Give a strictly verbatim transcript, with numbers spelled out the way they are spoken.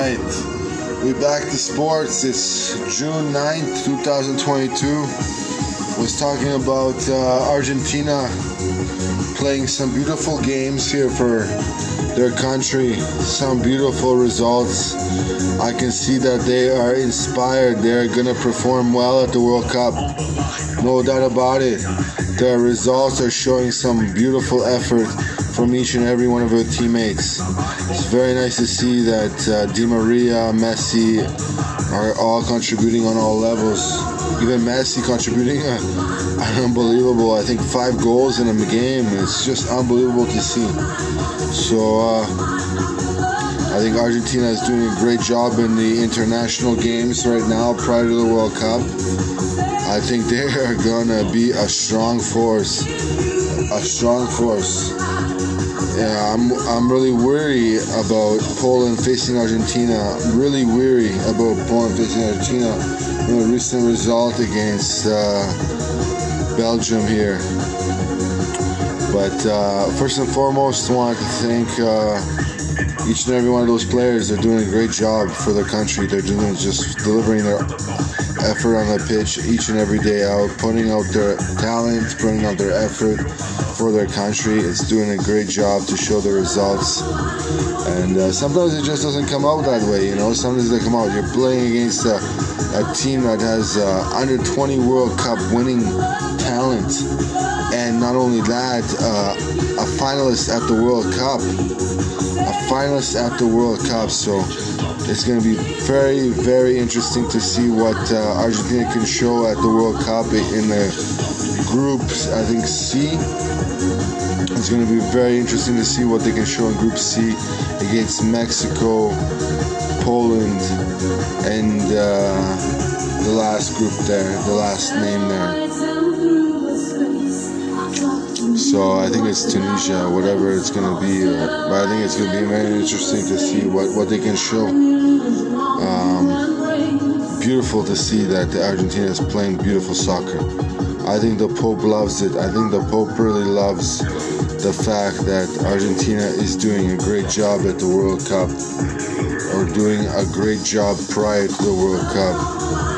right, we back to sports. It's June ninth, twenty twenty-two. Was talking about uh, Argentina playing some beautiful games here for their country. Some beautiful results. I can see that they are inspired. They're gonna perform well at the World Cup. No doubt about it. Their results are showing some beautiful effort from each and every one of their teammates. It's very nice to see that uh, Di Maria, Messi are all contributing on all levels. Even Messi contributing uh, unbelievable. I think five goals in a game. It's just unbelievable to see. So uh, I think Argentina is doing a great job in the international games right now prior to the World Cup. I think they are gonna be a strong force. A strong force. Yeah, I'm I'm really weary about Poland facing Argentina. I'm really weary about Poland facing Argentina in the recent result against uh, Belgium here. But uh, first and foremost, I want to thank uh, each and every one of those players. They're doing a great job for their country. They're doing just delivering their effort on the pitch each and every day out, putting out their talent, putting out their effort for their country. It's doing a great job to show the results. And uh, sometimes it just doesn't come out that way, you know. Sometimes they come out. You're playing against a, a team that has uh, under twenty World Cup winning talent. And not only that, uh, a finalist at the World Cup. A finalist at the World Cup. So it's going to be very, very interesting to see what uh, Argentina can show at the World Cup in the groups. I think C. It's going to be very interesting to see what they can show in Group C against Mexico, Poland, and uh, the last group there, the last name there. So I think it's Tunisia, whatever it's going to be. Uh, but I think it's going to be very interesting to see what, what they can show. Um, beautiful to see that the Argentina is playing beautiful soccer. I think the Pope loves it. I think the Pope really loves the fact that Argentina is doing a great job at the World Cup, or doing a great job prior to the World Cup.